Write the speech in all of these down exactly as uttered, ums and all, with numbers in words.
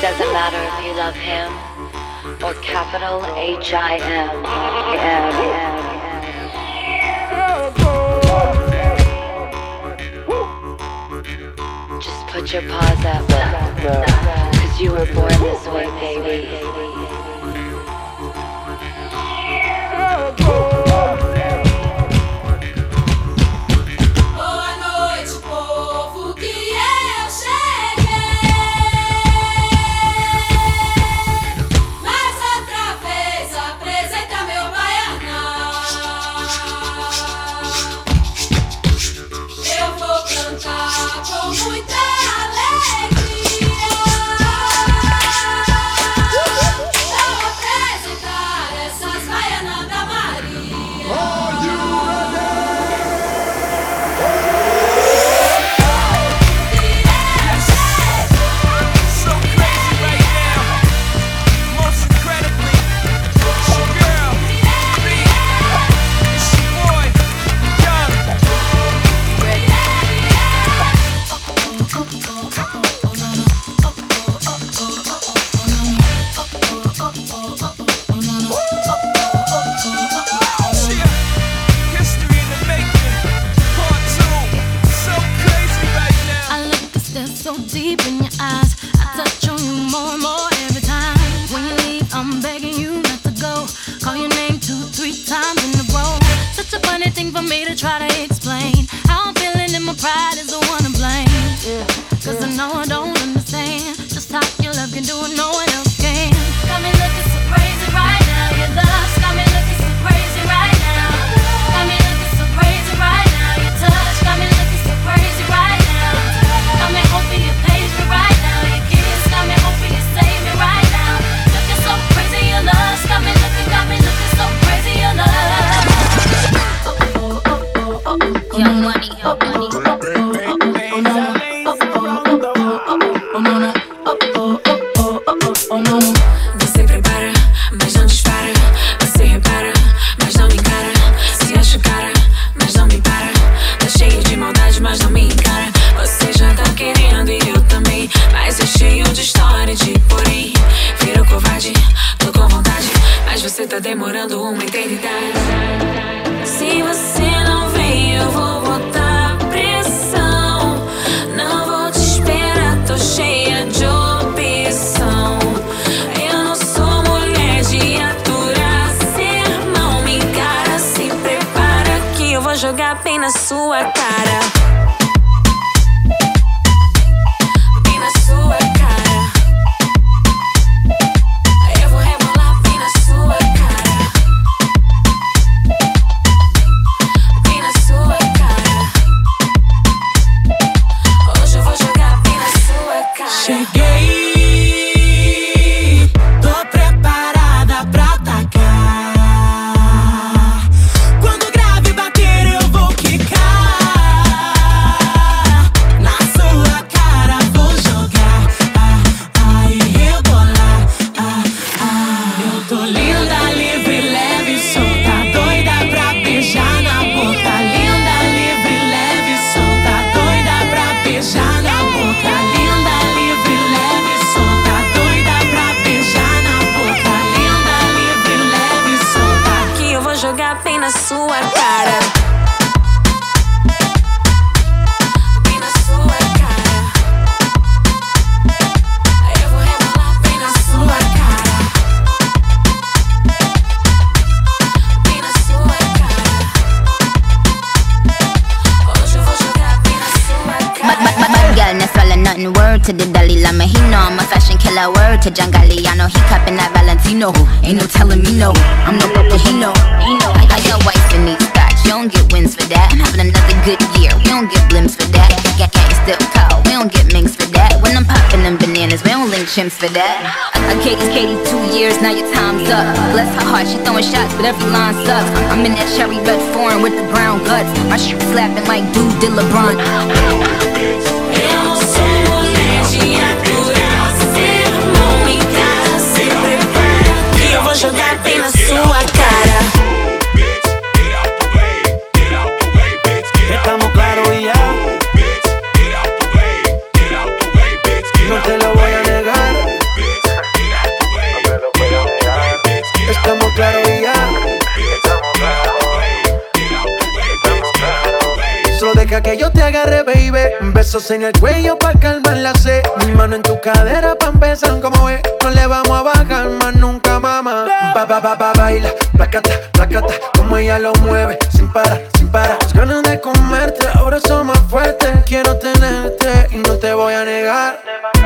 doesn't matter if you love him or capital H I M. M, M, M. Just put your paws up, cause you were born this way, baby. Jogar bem na sua cara. Bem na sua cara. Eu vou rebolar bem na sua cara. Bem na sua cara. Hoje eu vou jogar bem na sua cara. Cheguei, tô preparada pra atacar. Jogar bem na sua cara. Bem na sua cara. Eu vou rebolar bem na sua cara. Bem na sua cara. Hoje eu vou jogar bem na sua cara. Bad girl, no swallow nothing. Word to the Dalai Lama, he know I'm a fashion killer. Word to John Galliano, he cupping that Valentino. Ain't no telling me no, I'm no broke, he know. I, I got whites in these scotch, you don't get wins for that. I'm having another good year, we don't get blimps for that. Gang gang still cold, we don't get minks for that. When I'm popping them bananas, we don't link chimps for that. I, I Katie's Katie two years, now your time's up. Bless her heart, she throwing shots, but every line sucks. I'm in that cherry red foreign with the brown guts. My shit slapping like dude did LeBron. Eu vou jogar bem na sua cara. Estamos claros y ya. No te lo voy a negar. Besos en el cuello pa' calmar la sed. Mi mano en tu cadera pa' empezar como ves. No le vamos a bajar más nunca, mamá. Ba, ba, ba, ba, baila, placata, placata. Como ella lo mueve, sin parar, sin parar. Las ganas de comerte, ahora son más fuertes. Quiero tenerte y no te voy a negar.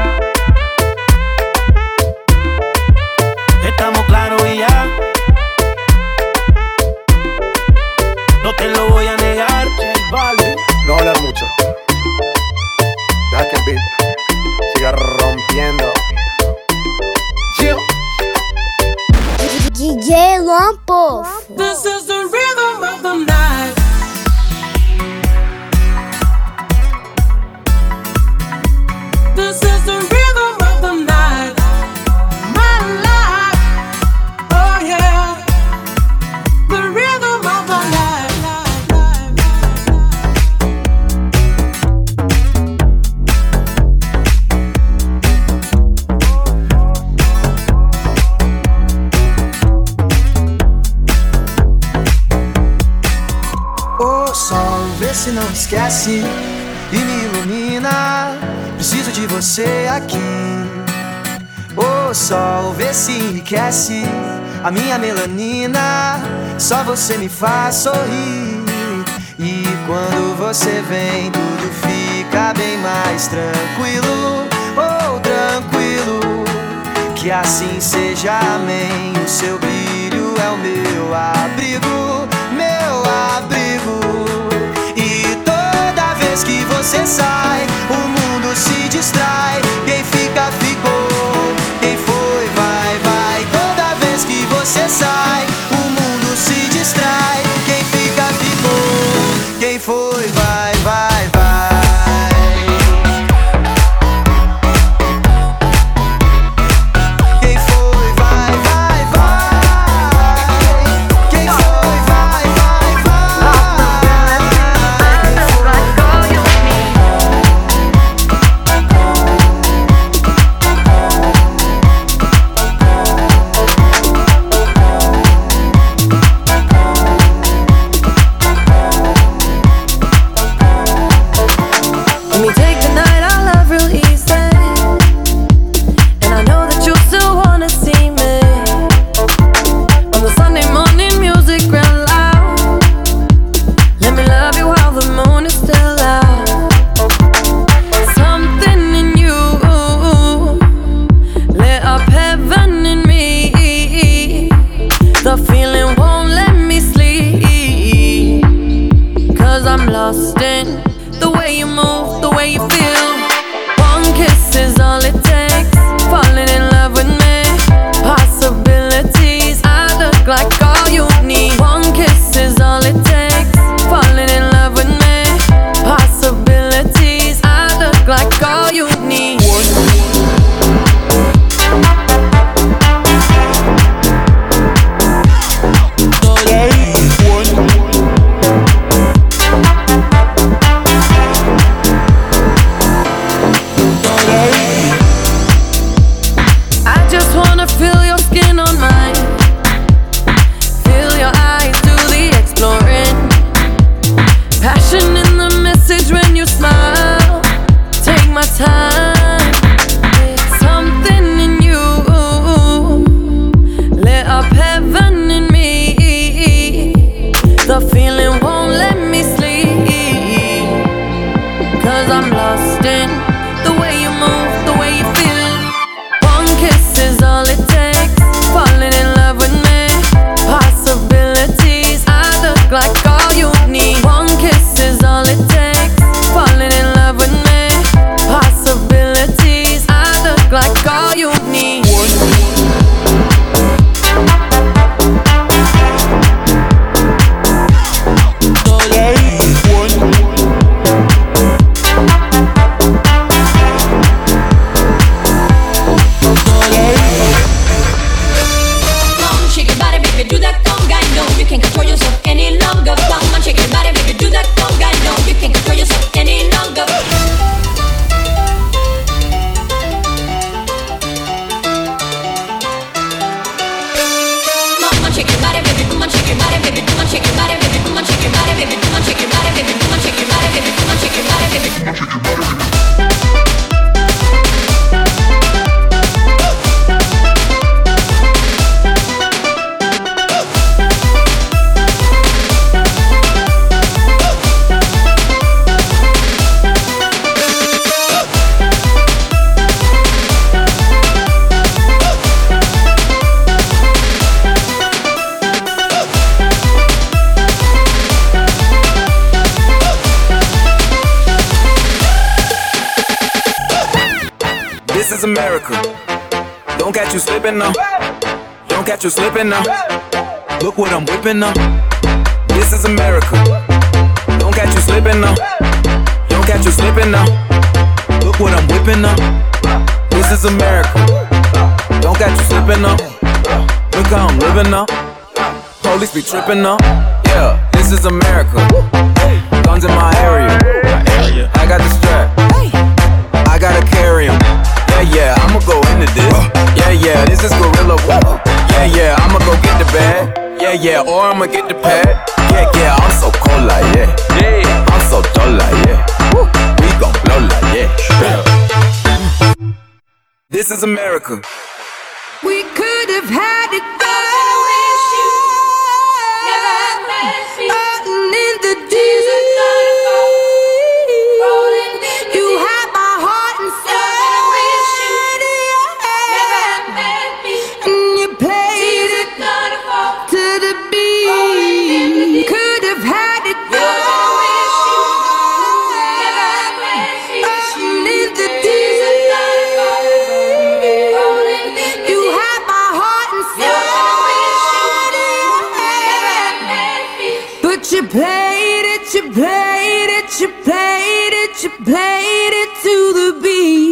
Estamos claros y ya. No te lo voy a negar. Vale. No hablar mucho. Deja que el beat siga rompiendo. D J Luan Poff. This is the rhythm of the night. This is the rhythm of the night. My life. Oh yeah. The rhythm of the night. O sol, vê se não esquece e me ilumina. Preciso de você aqui. O sol, vê se enriquece a minha melanina. Só você me faz sorrir. E quando você vem, tudo fica bem mais tranquilo. Oh, tranquilo. Que assim seja, amém. O seu brilho é o meu abrigo, meu abrigo. E toda vez que você sai, o mundo se distrai. Quem fica, ficou. Quem foi, vai, vai. Toda vez que você sai, o mundo se distrai. Quem fica, ficou. Quem foi, vai, vai, vai. Quem foi, vai, vai, vai. Quem foi, vai, vai, vai. Quem foi, This is America. Don't catch you slipping now. Don't catch you slipping now. Look what I'm whipping now. This is America. Don't catch you slipping now. Don't catch you slipping now. Look what I'm whipping now. This is America. Don't catch you slipping now. Look how I'm living now. Police be tripping now. Yeah, this is America. Guns in my area. I got the strap. I gotta carry 'em. Yeah, yeah, I'ma go into this. Yeah, yeah, this is gorilla. Yeah, yeah, I'ma go get the bag. Yeah, yeah, or I'ma get the pad. Yeah, yeah, I'm so cold like yeah. Yeah, I'm so dull like yeah. We gon' blow like yeah. This is America. We could have had it all. Floating in the deep. You had my heart inside. And you played it to the beat. Could have had it all. Floating in the deep. You had my heart inside. But you played it, you played it, you played it, you played it to the beat.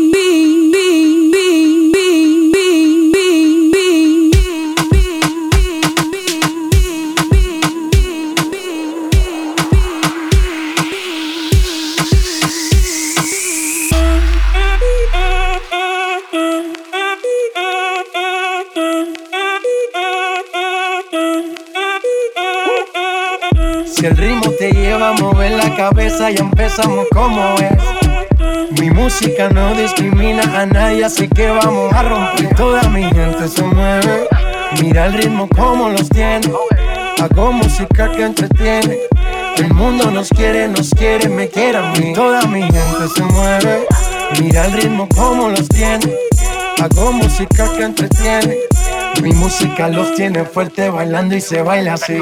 Si el ritmo te lleva a mover la cabeza, ya empezamos como es. Mi música no discrimina a nadie, así que vamos a romper. Toda mi gente se mueve, mira el ritmo como los tiene. Hago música que entretiene. El mundo nos quiere, nos quiere, me quiere a mí. Toda mi gente se mueve, mira el ritmo como los tiene. Hago música que entretiene. Mi música los tiene fuerte bailando y se baila así.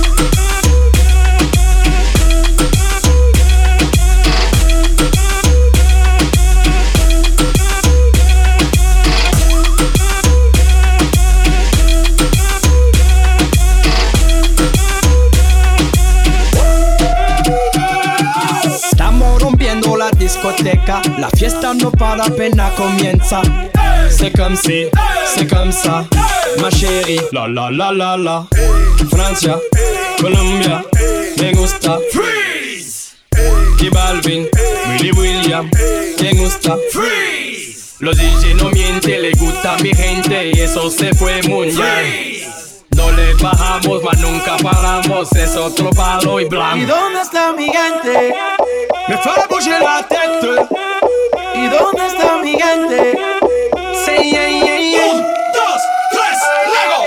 Discoteca, la fiesta no para, apenas comienza. C'est comme si, c'est comme ça, ma chérie. La la la la la. Francia, Colombia, me gusta. Freeze. Y Balvin, Willy William, me gusta. Freeze. Los D J no mienten, le gusta a mi gente y eso se fue muy bien. No le bajamos, mas nunca paramos, es otro palo y blanco. ¿Y dónde está mi gente? Me fera bouger la tête. ¿Y dónde está mi gente? Say yeah, yeah, yeah. Un, dos, tres, luego.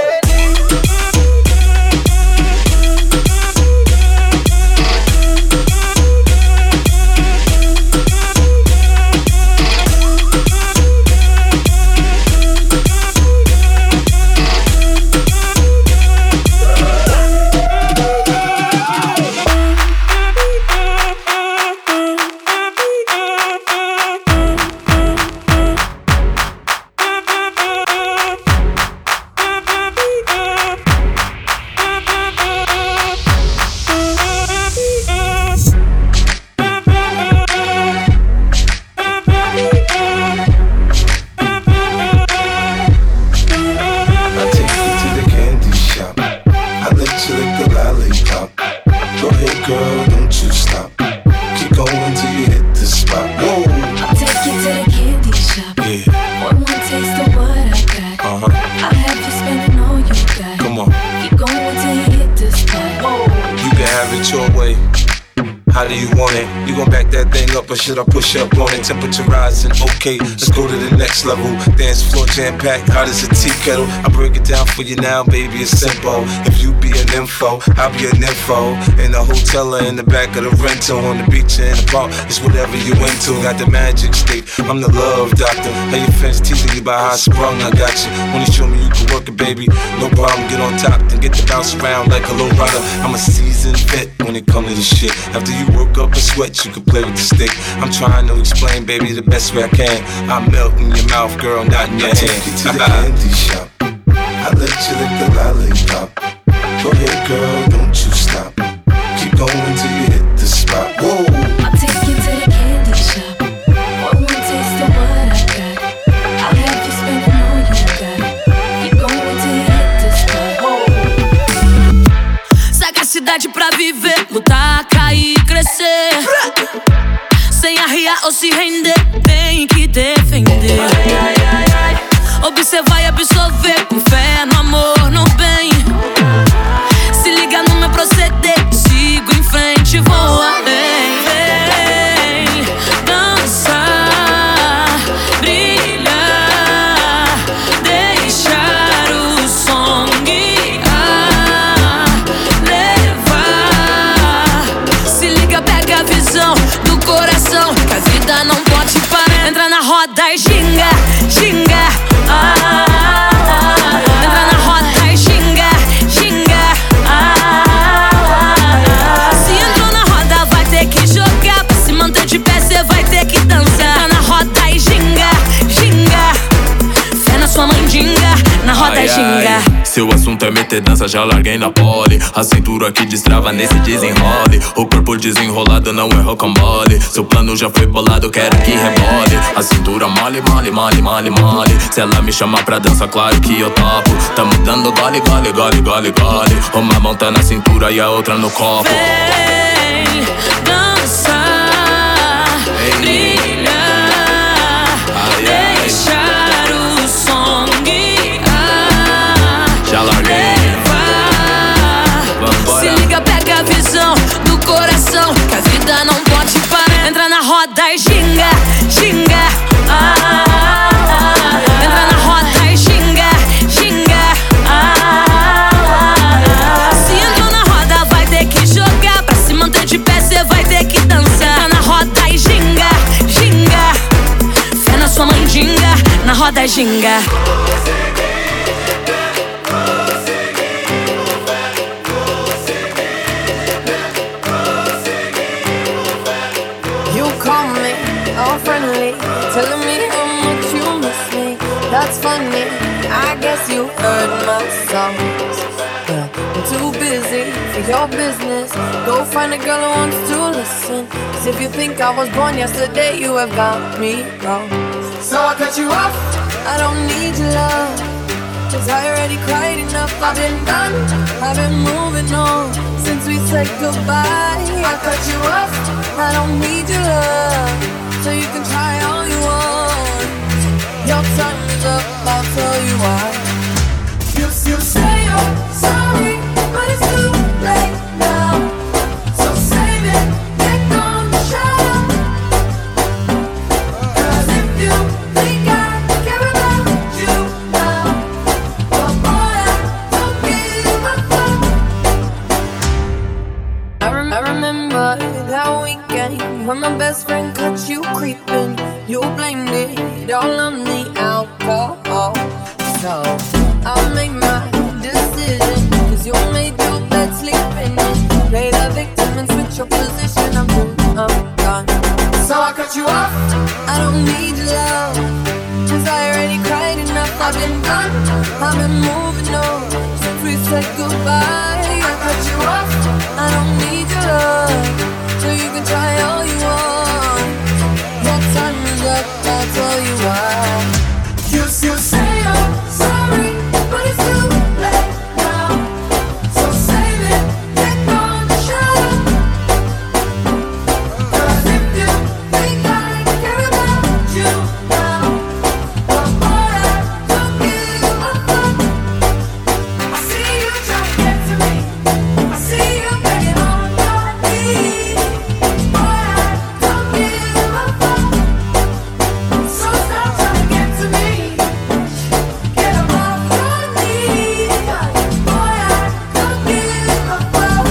Should I push up on it? Temperature rising, okay, let's go to the next level. Dance floor jam-packed, hot as a tea kettle. I break it down for you now, baby, it's simple. If you be an info, I'll be an info. In the hotel or in the back of the rental, on the beach or in the park, it's whatever you into. Got the magic stick, I'm the love doctor. Hey, your friends teasing you about how I sprung, I got you. When you show me you can work it, baby, no problem, get on top, then get to bounce around like a low rider. I'm a seasoned vet when it comes to this shit. After you you work up a sweat, you can play with the stick. I'm trying to explain, baby, the best way I can. I melt in your mouth, girl, not in your hand. Take you to the candy shop. I let you lick the lollipop. Go ahead, girl, don't you stop. Keep going till you hit the spot. Whoa. I'll take you to the candy shop. One more taste of what I got. I'll have you spending all you got. Keep going till you hit the spot. Whoa. Sagacidade pra viver, lutar, cair, crescer. Sem arriar ou se render, tem que defender. Observar e absorver, com fé no amor, no bem. Se liga no meu proceder, sigo em frente, vou além. Vem dançar, brilhar, deixar o som guiar, levar. Se liga, pega a visão do coração, que a vida não pode parar. Entra na roda e xinga, xinga. Ah, ah, ah. Entra na roda e xinga, xinga. Ah, ah, ah. Se entrou na roda, vai ter que jogar. Pra se manter de pé, cê vai ter que dançar. Entra na roda e xinga, xinga. Fé na sua mandinga, na roda e xinga. Seu assunto é meter dança, já larguei na pole. A cintura que destrava nesse desenrole. O corpo desenrolado não é rocambole. Seu plano já foi bolado, quero que rebole. A cintura mole, mole, mole, mole, mole. Se ela me chamar pra dança, claro que eu topo. Tamo dando gole, gole, gole, gole, gole. Uma mão tá na cintura e a outra no copo. Vem dançar, brilhar, deixar o som guiar. Já larguei. Se liga, pega a visão do coração, que a vida não pode parar. Entra na roda e xinga, xinga. Ah, ah, ah. Entra na roda e xinga, xinga. Ah, ah, ah. Se entrou na roda, vai ter que jogar. Pra se manter de pé, cê vai ter que dançar. Entra na roda e xinga, xinga. Fé na sua mandinga, na roda e xinga. All friendly, telling me how much you miss me. That's funny, I guess you heard my songs. Well, I'm too busy for your business. Go find a girl who wants to listen. 'Cause if you think I was born yesterday, you have got me wrong. So I cut you off, I don't need your love. 'Cause I already cried enough, I've been done, I've been moving on since we said goodbye. I cut you off, I don't need your love. So you can try all you want. Your time is up, I'll tell you why. You, you say you're sorry, but it's too late now. So save it, get on the show. 'Cause if you think I care about you now, well boy, I don't give a fuck. I, rem- I remember that weekend when my best friend caught you creeping. You blamed it all on the alcohol. So I made my decision, 'cause you made your bed sleeping in. Play the victim and switch your position. I'm through, I'm gone. So I cut you off, I don't need your love. 'Cause I already cried enough, I've been done, I've been moving on since we said goodbye. I cut you off, I don't need your love. So you can try all you want. Your time is up, I'll tell you why. You, you say you're sorry, but it's too late now. So save it, get on the show. 'Cause if you think I care about you now, well boy, I don't give a fuck. I see you trying to get to me, I see you begging on your knees. Boy, I don't give a fuck. So stop trying to get to me, get them off your knees. Boy, I don't give a fuck.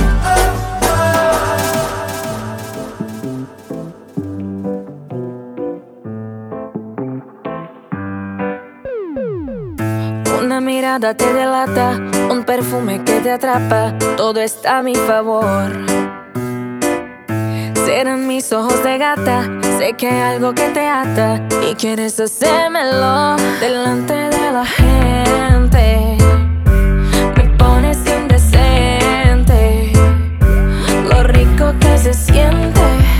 Una mirada te delata, un perfume que te atrapa, todo está a mi favor. Serán mis ojos de gata. Sé que hay algo que te ata y quieres hacérmelo delante de la gente. Me pones indecente. Lo rico que se siente,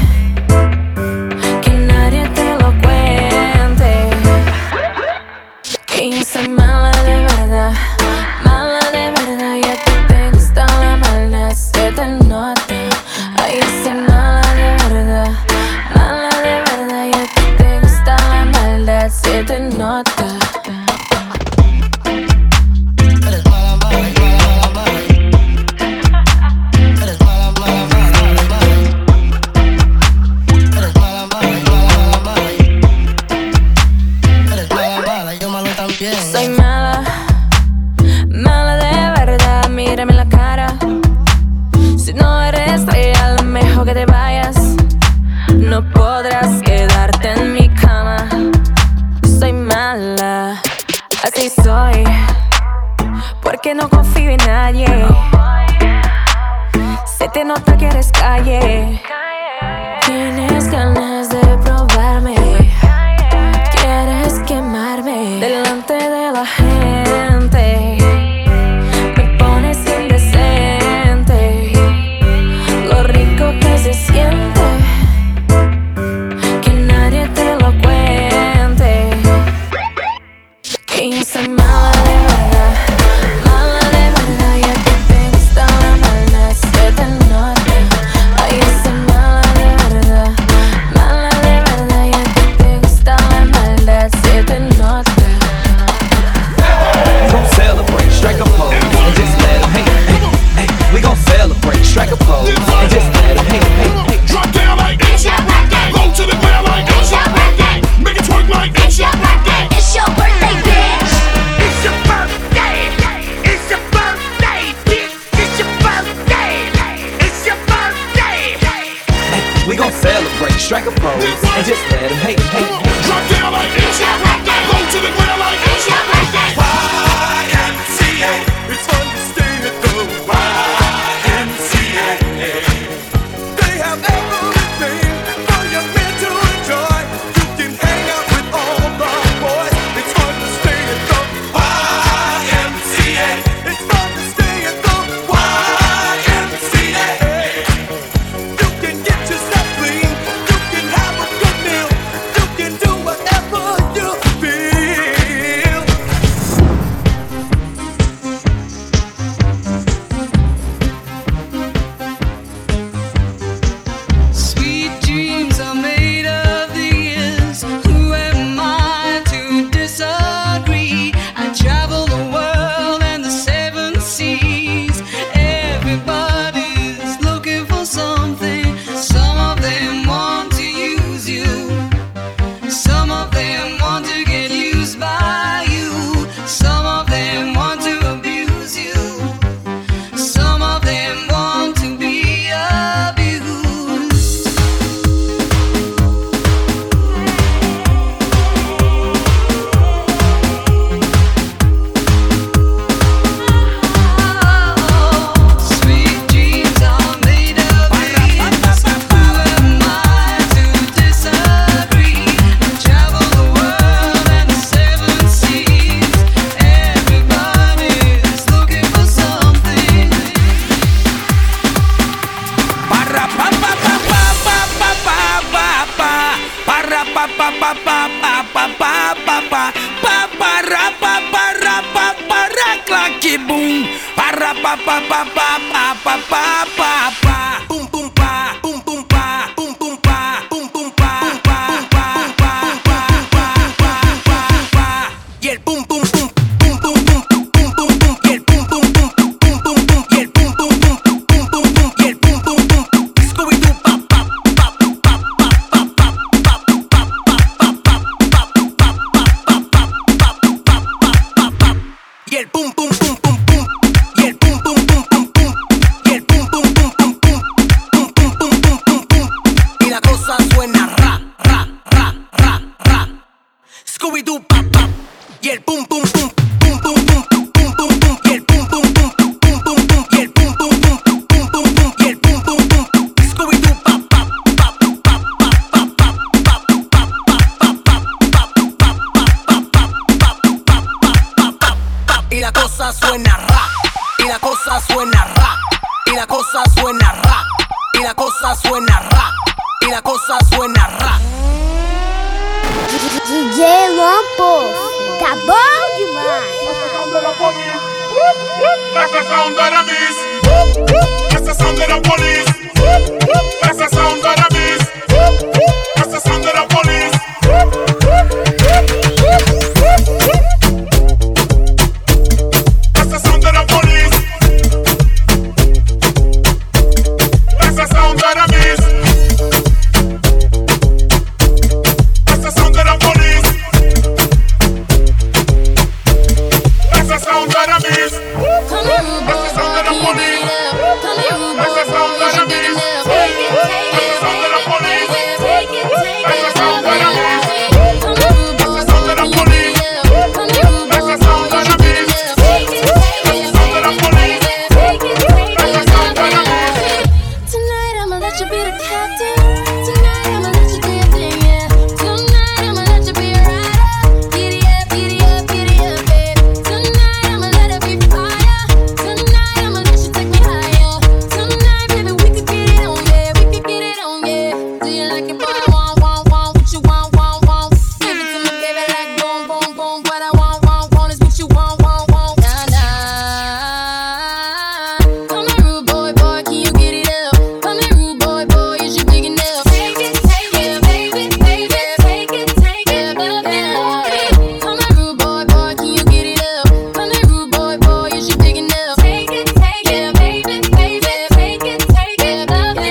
que nadie te lo cuente. Que yo soy mala de verdad, mala de verdad. Y a ti te gusta la maldad, se te nota. Ay, yo soy mala de verdad, mala de verdad. Y a ti te gusta la maldad, se te nota. Soy mala, mala de verdad. Mírame en la cara. Si no eres real, mejor que te vayas. No podrás quedarte en mi cama. Soy mala, así soy, porque no confío en nadie. Se te nota que eres calle. Tienes ganas de probarme, quieres quemarme delante de la gente. Me pones indecente. Lo rico que se siente, que nadie te lo cuente. Que yo soy mala de verdad, mala de verdad. Y a ti te gusta la maldad, se te nota. Ay, yo soy mala de verdad, mala de verdad. Y a ti te gusta la maldad, se te nota. We gon' celebrate, strike a pose, and just let 'em hate, hey, hey. We gon' celebrate, strike a pose, and just let 'em hate, hey, hey. Drop down like it's your birthday. Low to the ground like it's your birthday. Make it twerk like it's your birthday. It's your birthday, bitch. It's your birthday. It's your birthday, bitch. It's your birthday. It's your birthday. Hey, we gon' celebrate, strike a pose, and just let 'em hate, hey, hey. Drop down like it's your birthday. Low to the ground like it's your birthday. Y M C A. It's fun to stay at the Y M C A. They have everything for your men to enjoy. You can hang out with all the boys. It's fun to stay at the Y M C A. It's fun to stay at the Y M C A. You can get yourself clean. You can have a good meal. You can do whatever you feel. Sweet dreams are made of these. Who am I to disagree? I travel the world and the seven seas. Everybody's looking for something. Some of them want to use you. Some of them want to get used by you. Some of them want to abuse you. Some of them want to be abused. Sweet dreams are made of these. Who am I to disagree? I travel the world and the seven seas. Everybody's looking for something. Para pa pa pa pa pa pa pa pa pa. Para pa pa pa pa pa pa pa pa pa. Pa para pa para pa para claque boom. Para pa pa pa pa pa pa pa pa pa. Pum pum pa pum pum pa pum pum pa pum pum pa pa pa pa pa pa pa pa pa. Y el pum pum pum pum pum pum pum pum pum. Y el pum pum pum pum pum pum. Y el pum pum pum pum pum pum. Y el pum pum pum. Scooby Doo pa pa pa pa pa pa pa pa pa pa pa pa pa pa pa. Y el pum pum pum pum pum. Y el pum pum pum pum pum. Y el pum pum pum pum pum. Pum pum pum pum pum pum. Y la cosa suena ra ra ra ra ra. Scooby Doo pa pa. Y el pum pum pum pum pum pum pum pum pum. Y el pum pum pum pum pum pum. Y el pum pum pum pum pum pum. Y el pum pum pum. Scooby Doo pa pa pa cosa suena ra, y la cosa suena ra, y la cosa suena ra, y la cosa suena ra, y la cosa suena ra. D J Lampo, tá bom demais. That's the sound of the beast. That's the sound of the police. That's the sound of the beast. That's the sound of the police. That's the sound of the police. That's the sound of the beast. That's the sound of the police. That's the sound of the beast. Come here, rude boy, boy, can you beat it up? Come here, rude boy, boy, is you big enough? Take it, take it, take it, take it, take it, take it, come here, rude boy, can you beat it up? Come here, rude boy, boy, is you big enough? Take it, take it, take it, take it, take it, come here. Tonight I'ma let you be the captain. Tonight I'ma let you do your thing, yeah. Tonight I'ma let you be a rider. Giddy up, giddy up, giddy up, babe. Tonight I'ma let it be fire. Tonight I'ma let you take me higher. Tonight, baby, we could get it on, yeah. We could get it on, yeah. Do you like it, boy? Want, want, want, what you want, want, want. Give it to me, baby, like boom, boom, boom. What I want, want, want is what you want, want, want. Nah, nah. Come here, rude boy, boy, can you get it up? Come here, rude boy, boy, is you big enough? Take it, take it, baby, baby, take it, take it, baby. Come here, rude boy, boy, can you get it up? Come here, rude boy, boy, is you big enough? Take it, take it, baby, baby, take it, take it, baby.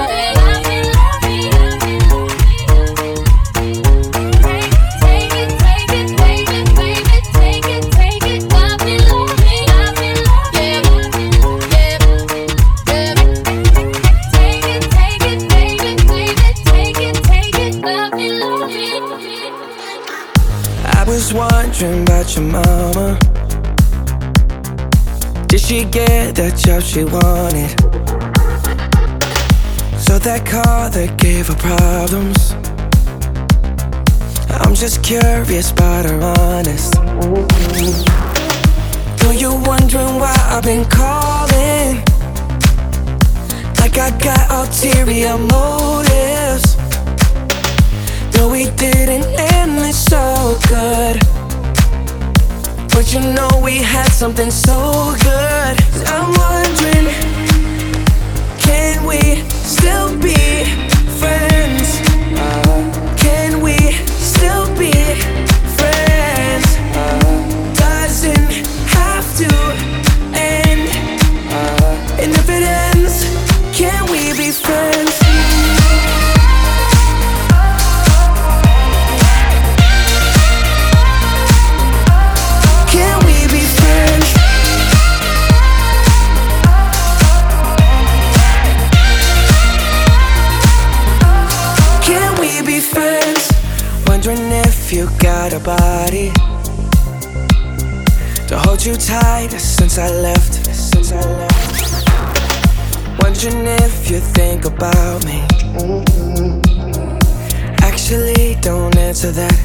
Take it, take it, baby, baby, take it, take it, love me, love me, love me, love me, yeah, yeah, yeah. Take it, take it, baby, baby, take it, take it, love me, love me. I was wondering about your mama. Did she get that job she wanted? So that car that gave her problems. I'm just curious about her honest. Know you're wondering why I've been calling, like I got ulterior motives. No, we didn't end this so good, but you know we had something so good. I'm wondering, can we still be friends? Can we still be friends? Doesn't have to end. And if it ends, can we be friends? Can we be friends? Can we be friends? Wondering if you got a body to hold you tight since I left. Since I left. Wondering if you think about me. Actually, don't answer that.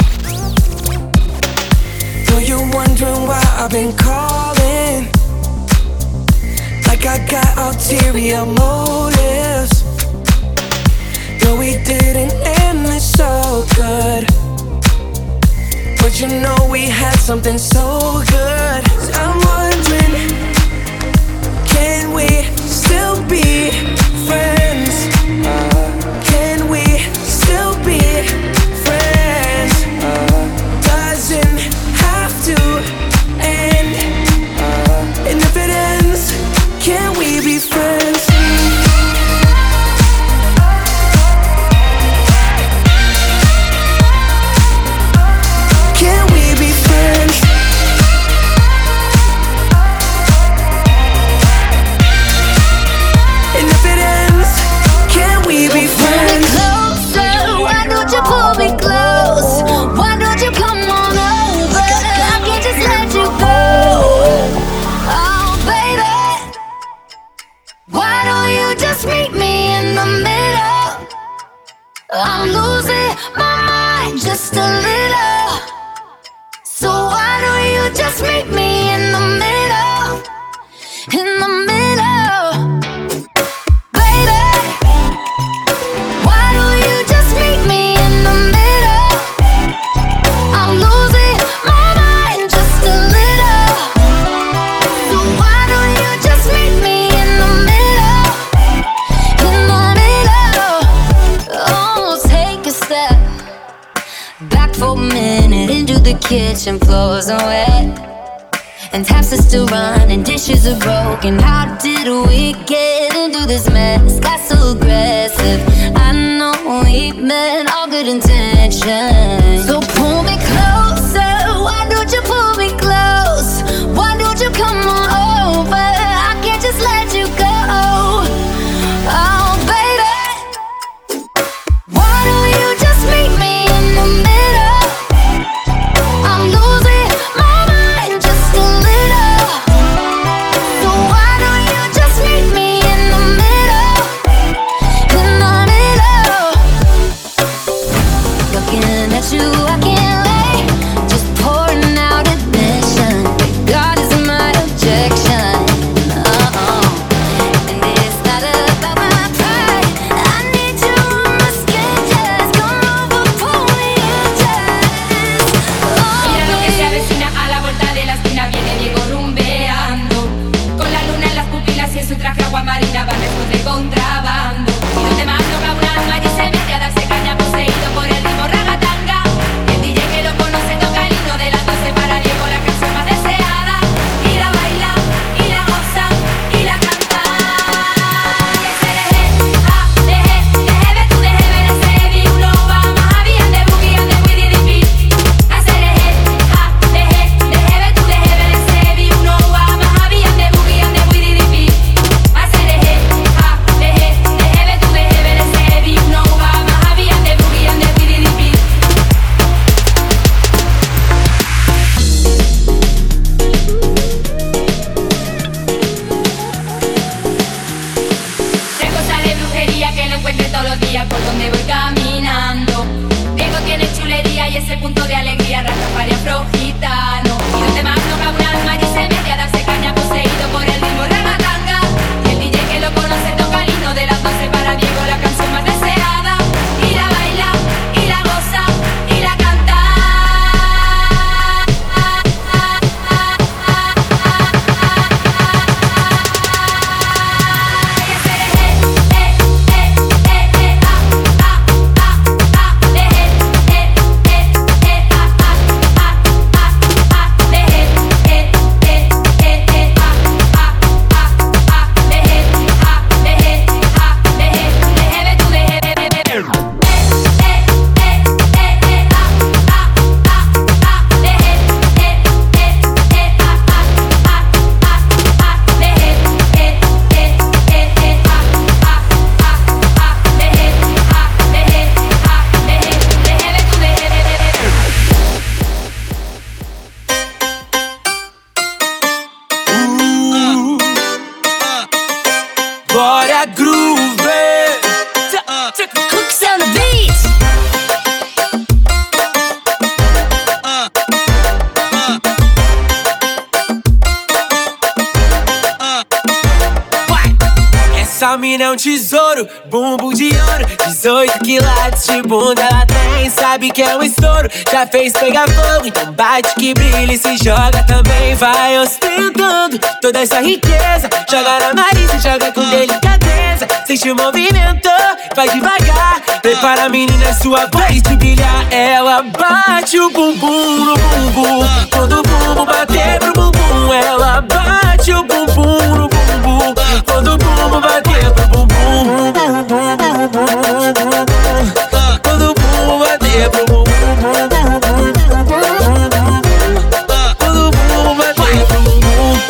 Know you're wondering why I've been calling, like I got ulterior motives. No, we didn't end this so good, but you know we had something so good. I'm wondering, can we still be friends? Can we still be friends? Doesn't have to end. And if it ends, can we be friends? Can we be friends? And if it ends, can we be friends? Closer, why don't you pull me close? Why don't you come on over? I can't just let you go. Oh, baby, why don't you just meet me in the middle? I'm losing my mind just a little. So why don't you just meet me in the middle? minute into the kitchen floors are wet, and taps are still running, dishes are broken. How did we get into this mess? Got so aggressive. I know we meant all good intentions. So pull me closer. Why don't you pull me close? Why don't you come on over? I can't just let you go. Oh, baby, why don't you just meet me in the middle? I'm losing my mind just a little. So why don't you just meet me in the middle? In the middle. Looking at you, I can't lay. Just pouring out admission. God is my objection. Uh-uh. And it's not about my pride. I need you on my skin. Just come over, pull me in, just. Mira lo que se avecina a la vuelta de la esquina. Viene Diego rumbeando, con la luna en las pupilas y en su traje agua marina va lejos de contrabando. Y donde más toca un alma y se mete a darse caña poseído por el ritmo ragatanga. El D J que lo conoce toca el himno de las doce para Diego, la canción más deseada. Y la baila, y la goza, y la canta. Que se deje, ah, deje, deje ver tú, deje ver ese vi. Uno va más a bien de boogie and the with the beat. A se deje, ah, deje, deje ver tú, deje ver ese vi. Uno va más a bien de boogie and the with the beat. A se deje, ah, deje, deje ver tú, deje ver ese vi. Uno va más a bien de boogie and the with the beat. Tres cosas de brujería que lo encuentre todos los días por donde voy caminando. Diego tiene chulería y ese punto de alegría, Rastafari afro gitano. Y donde más toca un alma y se mete a darse caña poseído por el ritmo ragatanga. Y el D J que lo conoce toca el himno de las doce para Diego, la canción más deseada. Y la baila, y la goza, y la canta. Que se deje, eh, eh, eh, eh, ah, ah, ah, ah, deje, eh, eh, eh, ah, ah, ah, ah, ah, deje, eh, eh, eh, eh, ah, ah, ah, ah, deje, ah, deje, ah, deje, deje ver tú, deje, deje, deje. Eh, eh, eh, eh, eh, ah, ah, ah, ah, deje, eh, eh, eh, ah, ah, ah, ah, ah, deje, eh, eh, eh, eh, ah, ah, ah, ah, deje, ah, deje, ah, deje, deje ver tú, deje, deje, deje. Bora groove. Cooks on the beats. Essa mina é um tesouro, bumbum de ouro, dezoito quilates de bunda ela tem. Sabe que é um estouro, já fez pegar fogo. Então bate que brilha e se joga também. Vai ostentando toda essa riqueza. Joga na Marisa, joga com delicadeza. Sente o movimento, vai devagar. Prepara a menina, é sua vez de brilhar. Ela bate o bumbum no bumbum. Quando o bumbum bater pro bumbum, ela bate o bumbum no bumbum. Quando o bumbum bater pro bumbum, quando o bumbum bater pro bumbum, quando o bumbum bater pro bumbum.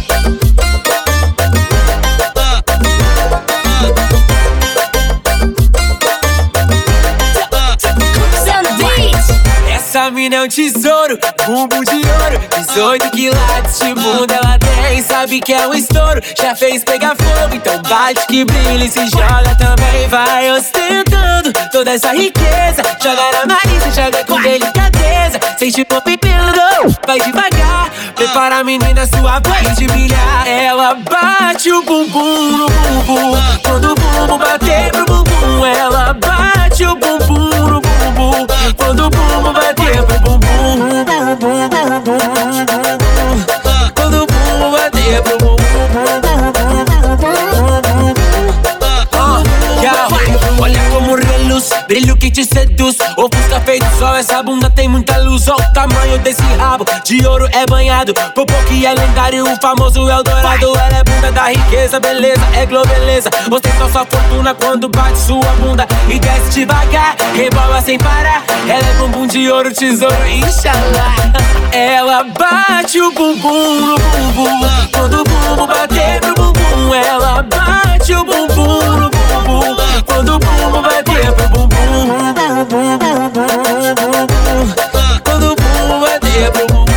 Essa mina é um tesouro, bumbum de ouro, dezoito quilates de bunda ela tem. Sabe que é um estouro, já fez pegar fogo. Então bate que brilha e se joga também. Vai ostentando toda essa riqueza. Joga na Marisa, joga com delicadeza. Sente o movimento, vai devagar. Prepara a menina, sua vez de brilhar. Ela bate o bumbum no bumbum. Quando o bumbum bater pro bumbum, ela bate o bumbum no bumbum. Quando o bumbum bater pro bumbum, quando o bumbum bater pro bumbum. Olha como reluz, brilho que te seduz. O fusca feito sol, essa bunda tem muita ilusão, o tamanho desse rabo de ouro é banhado. Popô que é lendário, o famoso Eldorado. Ela é bunda da riqueza, beleza, é globeleza. Ostenta sua fortuna quando bate sua bunda e desce devagar, rebola sem parar. Ela é bumbum de ouro, tesouro, inshallah. Ela bate o bumbum no bumbum, quando o bumbum bater pro bumbum. Ela bate o bumbum no bumbum, quando o bumbum bater pro bumbum. Quando o bumbum bater pro bumbum.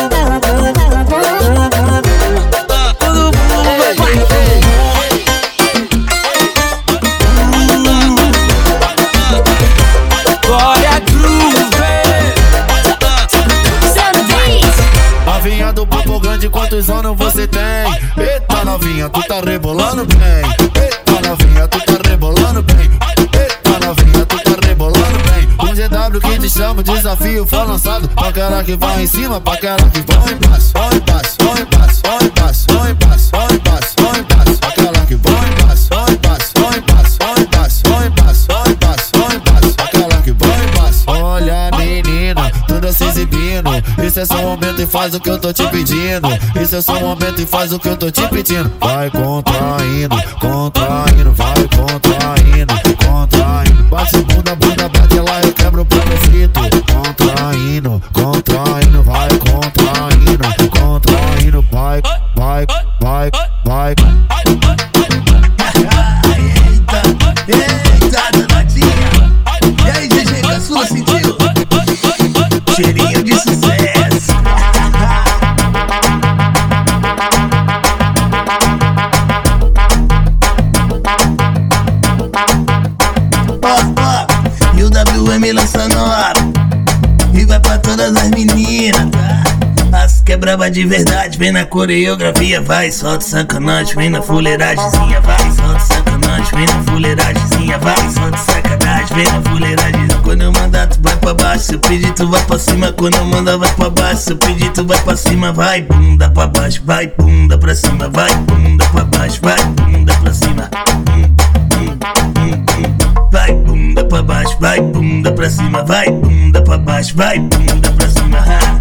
Quando o bumbum bater pro bumbum. Glória Groove. Novinha do papo grande, quantos anos você tem? Eita novinha, tu tá rebolando bem. Eita novinha, tu tá rebolando bem. Eita novinha, tu tá rebolando bem. Um G W que te chama, desafio foi lançado. Pra cara que vai em cima, pra cara que vai em passo. Vai em passo, vai em passo, vai em passo, vai em passo, vai em passo, vai em passo. Pra cara que vai em passo, vai em passo, vai em passo, vai em passo, vai em passo, vai em passo, vai em passo. Pra cara que vai em passo. Olha menina, tudo se exibindo. Isso é só um momento e faz o que eu tô te pedindo. Isso é só um momento e faz o que eu tô te pedindo. Vai contraindo, contraindo, vai contraindo, contraindo. Bate bunda, bunda, bate lá, eu quebro o profito. Contraindo, contraindo, vai contraindo, contraindo, vai, vai, vai, vai. Eita, eita, danadinha. E aí, G G, caçula, sentiu? Cheirinho de sucesso. Ó, ó, e o W M lança nova e vai pra todas as meninas, tá? As que é braba de verdade, vem na coreografia, vai, solta sacanagem, vem na fuleiragemzinha, vai, solta sacanagem, vem na fuleiragemzinha, vai, solta sacanagem, vem na fuleiragemzinha. Quando eu mandar tu vai pra baixo, se eu pedir tu vai pra cima. Quando eu mandar vai pra baixo, se eu pedir tu vai pra cima. Vai bunda pra baixo, vai bunda pra cima, vai bunda pra baixo, vai bunda pra cima. Vai bunda pra baixo, vai bunda pra cima, vai bunda pra baixo, vai bunda pra cima.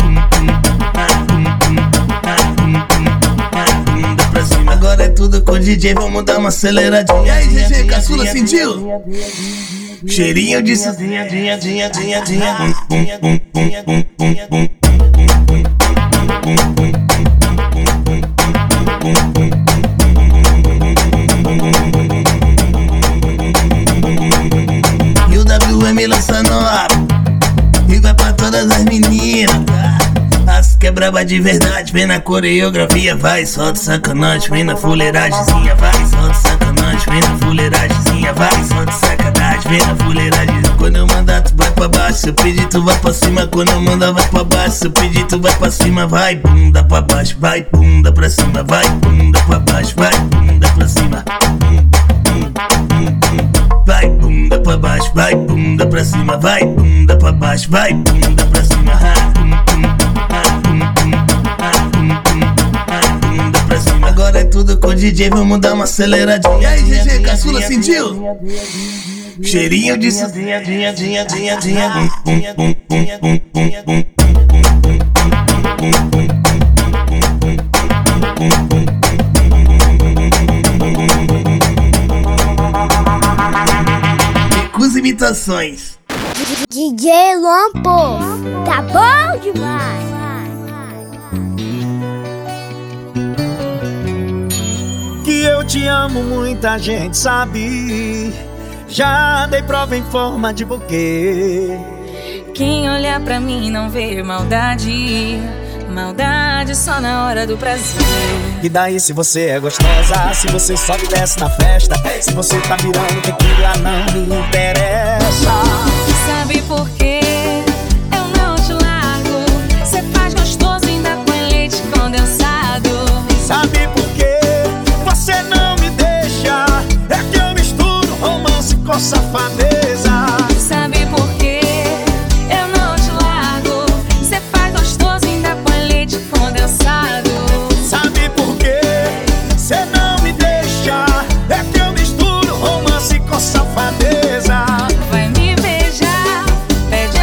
Bunda pra cima. Agora é tudo com o D J, vamos dar uma aceleradinha. E aí, G G, caçula, sentiu? Cheirinho de sozinha, dinha, dinha, dinha, dinha. E o W M lança nova e vai pra todas as meninas, tá? As que é braba de verdade, vem na coreografia, vai, solta sacanagem, vem na fuleiragemzinha, vai, solta sacanagem, vem na fuleiragemzinha, vai, solta sacanagem, vem na fuleiragemzinha. Quando eu mandar tu vai pra baixo, se eu pedir tu vai pra cima. Quando eu mandar vai pra baixo, se eu pedir tu vai pra cima. Vai bunda pra baixo, vai bunda pra cima, vai bunda pra baixo, vai bunda pra cima. Vai bunda pra baixo, vai bunda pra cima, vai bunda pra baixo, vai bunda pra cima. Bunda pra cima. Agora é tudo com o D J, vamos dar uma aceleradinha. E aí, G G, caçula, sentiu? Cheirinho de sozinha, dinha, dinha, dinha, dinha. Com imitações. D J Luan Povo, tá bom demais. Que eu te amo, muita gente sabe. Já dei prova em forma de buquê. Quem olhar pra mim não vê maldade. Maldade só na hora do prazer. E daí se você é gostosa, se você sobe e desce na festa, se você tá virando tequila não me interessa. Sabe por quê? Eu não te largo. Cê faz gostoso ainda com leite condensado. Sabe por quê? Você não me deixa. É que eu misturo romance com safadeza. Sabe por quê? Eu não te largo. Cê faz gostoso ainda com leite condensado. Sabe por quê? Cê não me deixa. É que eu misturo romance com safadeza. Vai me beijar, pede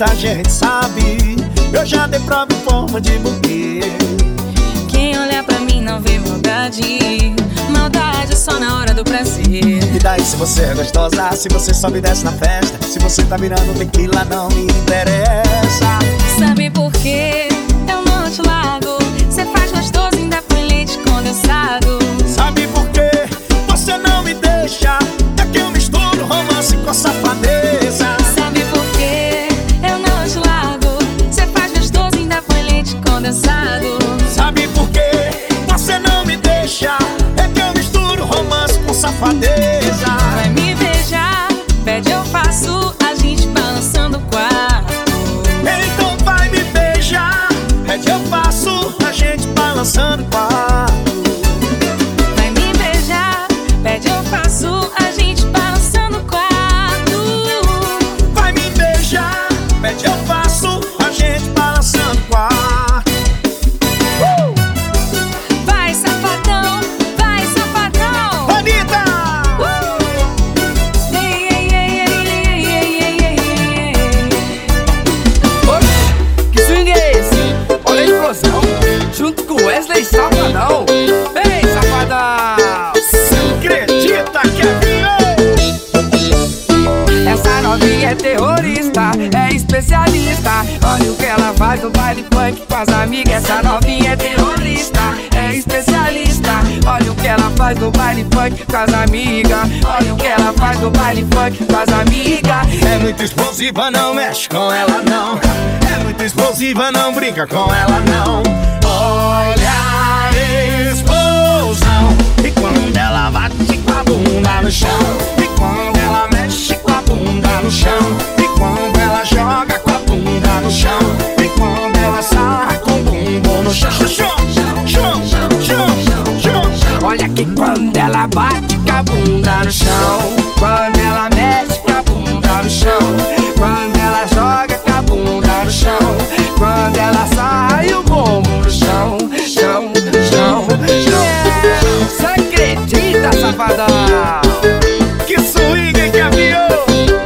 muita gente sabe. Eu já dei prova em forma de buquê. Quem olha pra mim não vê maldade. Maldade só na hora do prazer. E daí se você é gostosa, se você sobe e desce na festa, se você tá virando tequila não me interessa. Sabe por quê? Eu não te largo. Cê faz gostoso, ainda põe leite condensado. Sabe por quê? Você não me deixa. É que eu misturo romance com safadeza. Sabe por quê? Eu não te largo. Cê faz gostoso, ainda põe leite condensado. Sabe por quê? Você não me deixa. É que eu misturo romance com safadeza. Vai me beijar, pede eu faço, a gente balançando o quarto. Então vai me beijar, pede eu faço, a gente balançando o quarto. Vai me beijar, pede eu faço, a gente balançando o quarto. Vai me beijar, pede eu faço, a gente balançando o quarto. uh! Vai safadão, vai safadão. Anitta! Uh! Ei, ei, ei, ei, ei, ei, ei, ei, ei. Oxe, que swing é esse? Olha a explosão, junto com Wesley Safadão. Vem, safadão! Você acredita que é viu? Essa novinha é terrorista, é especialista. Olha o que ela faz no baile funk com as amigas. Essa novinha é terrorista, é especialista. Olha o que ela faz no baile funk com as amigas. Olha o que ela faz no baile funk com as amigas. É muito explosiva, não mexe com ela não. É muito explosiva, não brinca com ela não. Olha a explosão. E quando ela bate com a bunda no chão. E quando ela mexe com a bunda no chão. E quando ela joga com a bunda no chão. E quando ela sarra com o bumbum no chão. Chão, chão, chão, chão. Olha que quando ela bate com a bunda no chão. Quando ela mexe com a bunda no chão. Quando ela joga com a bunda no chão. Quando ela sai o bumbum no chão. Chão, chão, chão. Você acredita, safadão? Que swing que aviou.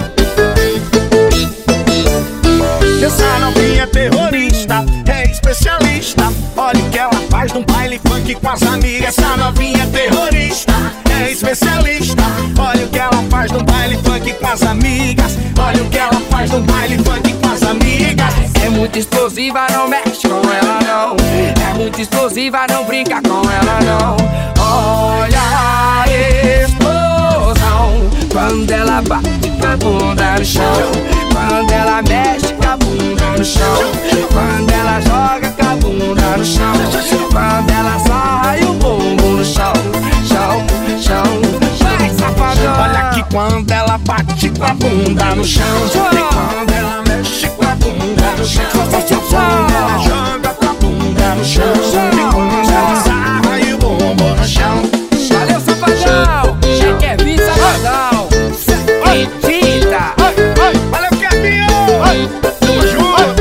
Essa novinha é terrorista, é especialista. Olha o que ela faz num baile funk com as amigas. Essa novinha é terrorista, é especialista. Olha o que ela faz num baile funk com as amigas. Olha o que ela faz num baile funk com as amigas. É muito explosiva, não mexe com ela não. É muito explosiva, não brinca com ela não. Olha a explosão. Quando ela bate com a bunda no chão. Quando ela mexe com a bunda no chão. Quando ela joga com a bunda no chão. Quando ela sai o bumbum no chão. Chão, chão, vai safadão. Olha que quando ela bate com a bunda no chão. E quando ela mexe com a bunda no chão. Quando ela joga com a bunda no chão. E quando ela sai o bumbum no chão. Valeu, safadão! Já quer vir, safadão! Acredita! Valeu, Kevin! Tamo junto!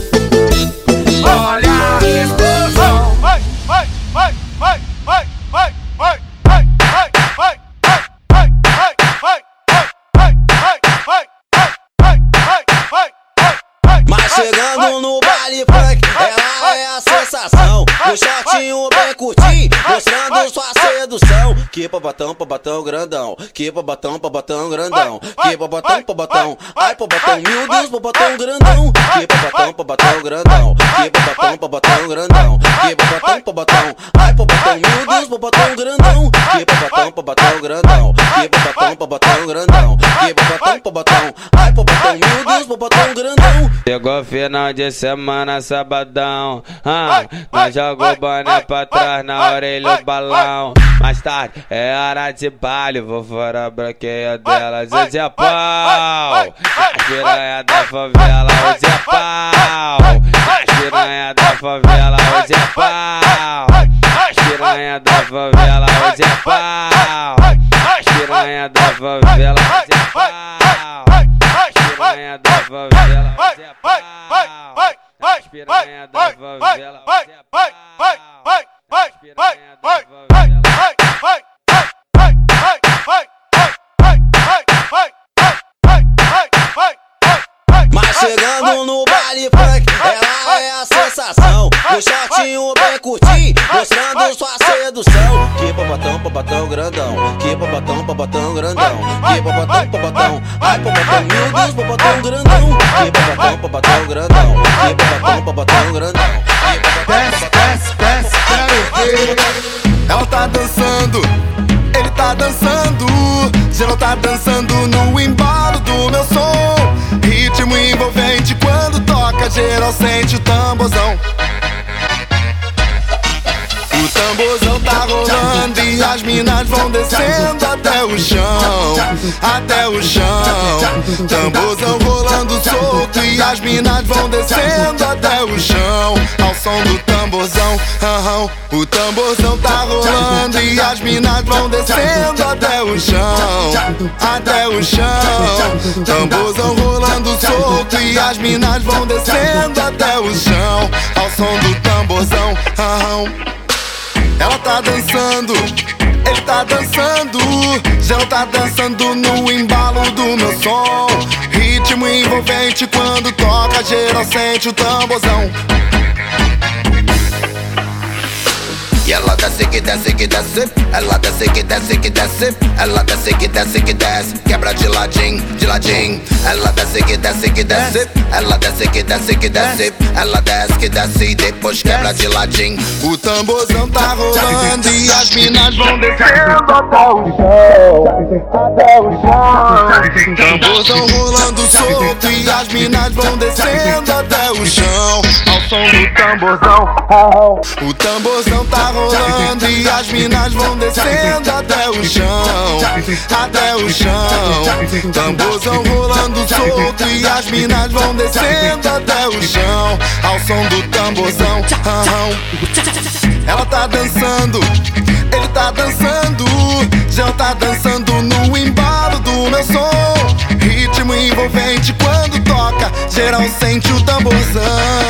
Olha a explosão! Vai, vai, vai, vai, vai, vai, vai, vai, vai, vai, vai, vai, vai, vai, vai, vai, vai, vai, vai. Mas chegando no baile funk, ela é a sensação. O shortinho bem curtinho, mostrando sua sedução. Que babatão, babatão grandão. Que babatão, babatão grandão. Que babatão, babatão. Ai, babatão, meu Deus, babatão grandão. Que babatão, babatão grandão. Que babatão, babatão grandão. Que babatão, babatão. Ai, babatão, meu Deus, babatão grandão. Que babatão, babatão grandão. Que babatão, babatão grandão. Que babatão, babatão. Ai, babatão, meu Deus, babatão grandão. Chegou final de semana, sabadão. Ah, nós jogou boné pra trás na orelha do balão. Mais tarde é hora de baile, vou fora a branqueia delas, hoje é pau. As piranha da favela, hoje é pau. As piranha da favela, hoje é pau. As piranha da favela, hoje é pau. As piranha da favela, hoje é pau. As piranha da favela, hoje é pau. As piranha da favela, hoje é pau. Mas chegando no baile funk, ela é a sensação. O shortinho bem curtinho, mostrando sua sedução. Que babatão, babatão grandão. Que babatão, babatão grandão. Que babatão, babatão. Ai, babatão, meu Deus, babatão grandão. Que babatão, babatão grandão. Que babatão, babatão grandão. Desce, desce, desce, quero ver. Ela tá dançando, ele tá dançando. Geral tá dançando no embalo do meu som. Ritmo envolvente quando toca, geral sente o tamborzão. O tamborzão tá rolando e as minas vão descendo até o chão, até o chão. Tamborzão rolando solto e as minas vão descendo até o chão, ao som do tamborzão. Aham. O tamborzão tá rolando e as minas vão descendo até o chão, até o chão. Tamborzão rolando solto e as minas vão descendo até o chão, ao som do tamborzão. Aham. Ela tá dançando, ele tá dançando. Geral tá dançando no embalo do meu som. Ritmo envolvente quando toca, geral sente o tamborzão. E ela desce que desce que desce, ela desce que desce que desce, ela desce que desce que desce, quebra de ladinho, de ladinho. Ela desce que desce que desce, ela desce que desce que desce, ela desce que desce e depois quebra de ladinho. O tamborzão tá rolando e as minas vão descendo até o chão, até o chão. Tamborzão rolando solto e as minas vão descendo até o chão, ao som do tamborzão. O tamborzão tá rolando e as minas vão descendo até o chão, até o chão. Tamborzão rolando solto e as minas vão descendo até o chão, ao som do tamborzão. Ela tá dançando, ele tá dançando. Já tá dançando no embalo do meu som. Ritmo envolvente quando toca, geral sente o tamborzão.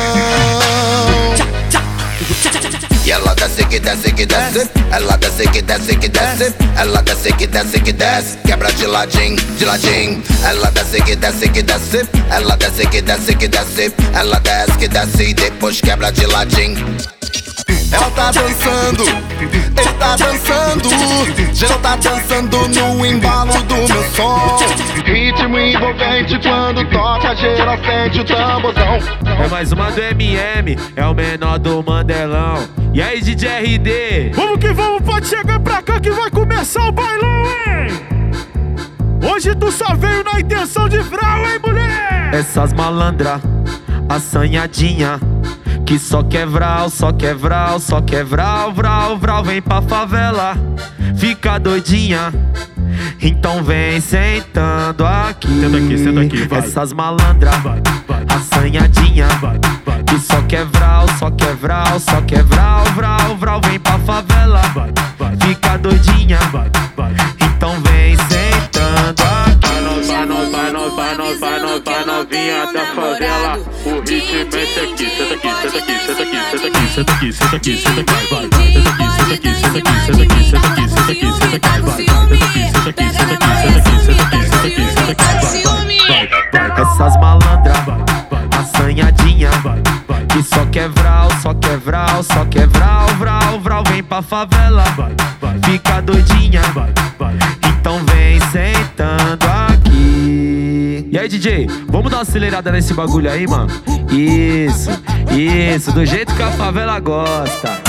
E ela desce que desce que desce, ela desce que desce que desce, ela desce que desce que desce, quebra de ladinho, de ladinho. Ela desce que desce que desce, ela desce que desce que desce, ela desce que desce e depois quebra de ladinho. Ela tá dançando, ele tá dançando. Geral tá dançando no embalo do meu som. Ritmo envolvente quando toca, geral sente o tamborzão. É mais uma do M M, é o menor do Mandelão. E aí, D J R D? Vamos que vamos, pode chegar pra cá que vai começar o bailão, hein? Hoje tu só veio na intenção de vral, hein, mulher? Essas malandra, assanhadinha, que só quer vral, só quer vral, só quer vral, vral, vral. Vem pra favela, fica doidinha, então vem sentando aqui. Senta aqui, senta aqui, vai. Essas malandra, vai, vai, assanhadinha, vai, vai, que só quer vral, só quer vral, só quer vral, vral, vral. Vem pra favela, vai, vai, fica doidinha, vai, vai, então vem sentando aqui. Vai nós, vai nós, vai nós, vai nós, vai novinha da favela. O ritmo é esse aqui, senta aqui, senta aqui, senta aqui, senta aqui, senta aqui, senta aqui, senta aqui, vai, vai. Senta aqui, senta aqui, senta aqui, senta aqui, senta aqui, senta aqui, senta aqui, vai. Senta aqui, senta aqui, senta aqui, senta aqui, senta aqui, senta aqui, senta aqui, vai, vai, vai. Essas malandra, assanhadinha, que só quer vral, só quer vral, só quer vral, vral, vral. Vem pra favela, fica doidinha, então vem sentando aqui. E aí, D J, vamos dar uma acelerada nesse bagulho aí, mano? Isso, isso, do jeito que a favela gosta.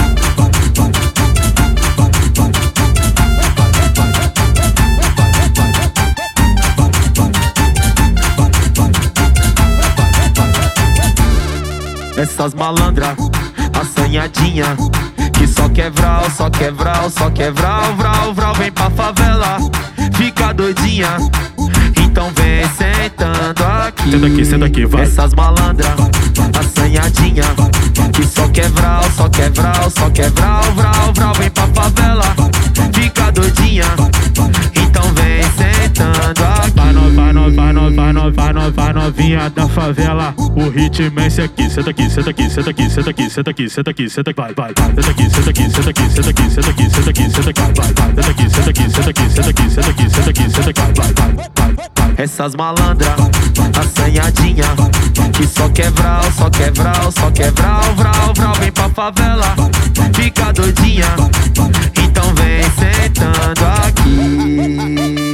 Essas malandra, assanhadinha, que só quer vral, só quer vral, só quer vral, vral, vral. Vem pra favela, fica doidinha, então vem sentando aqui. Senta aqui, senta aqui, vai. Essas malandra, assanhadinha, que só quer vral, só quer vral, só quer vral, vral, vral. Vem pra favela, fica doidinha, então vem sentando aqui. Vai nós, vai nós, vai nós, vai nós, no, vai no, vai novinha da favela. O ritmo é esse aqui. Senta aqui, senta aqui, senta aqui, senta aqui, senta aqui, senta aqui, senta aqui, vai, vai. Senta aqui, senta aqui, senta aqui, senta aqui, senta aqui, senta aqui, senta aqui, vai, vai. Senta aqui, senta aqui, senta aqui, senta aqui, senta aqui, senta aqui, senta aqui, vai, vai. Essas malandras, assanhadinha, que só quebral, só quebral, só quebral, vral, vral, vem pra favela, fica doidinha, então vem sentando aqui.